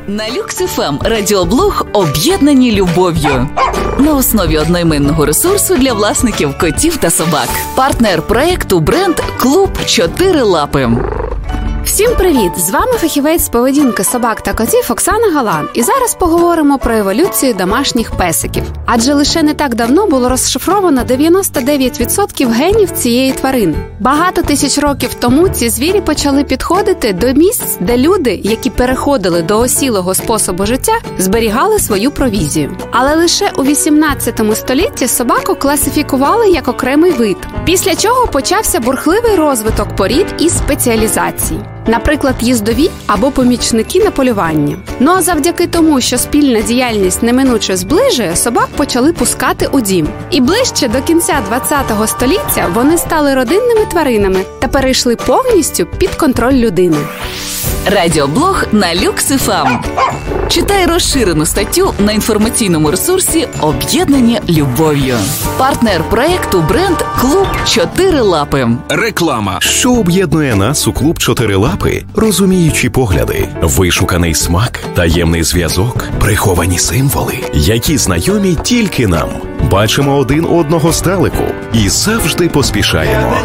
На Люкс ФМ радіоблог «Об'єднані любов'ю». На основі одноіменного ресурсу для власників котів та собак. Партнер проєкту бренд «Клуб 4 лапи». Всім привіт! З вами фахівець з поведінки собак та котів Оксана Галан. І зараз поговоримо про еволюцію домашніх песиків. Адже лише не так давно було розшифровано 99% генів цієї тварини. Багато тисяч років тому ці звірі почали підходити до місць, де люди, які переходили до осілого способу життя, зберігали свою провізію. Але лише у 18 столітті собаку класифікували як окремий вид, після чого почався бурхливий розвиток порід і спеціалізацій. Наприклад, їздові або помічники на полюванні. Ну а завдяки тому, що спільна діяльність неминуче зближує, собак почали пускати у дім. І ближче до кінця 20-го століття вони стали родинними тваринами та перейшли повністю під контроль людини. Радіоблог на Люкс ФМ. Читай розширену статтю на інформаційному ресурсі «Об'єднані любов'ю». Партнер проєкту бренд «Клуб 4 лапи». Реклама. Що об'єднує нас у «Клуб 4 лапи»? Розуміючі погляди, вишуканий смак, таємний зв'язок, приховані символи, які знайомі тільки нам. Бачимо один одного здалеку і завжди поспішаємо.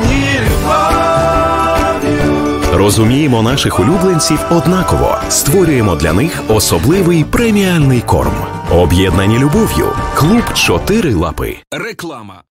Розуміємо наших улюбленців однаково. Створюємо для них особливий преміальний корм. Об'єднані любов'ю. Клуб 4 лапи. Реклама.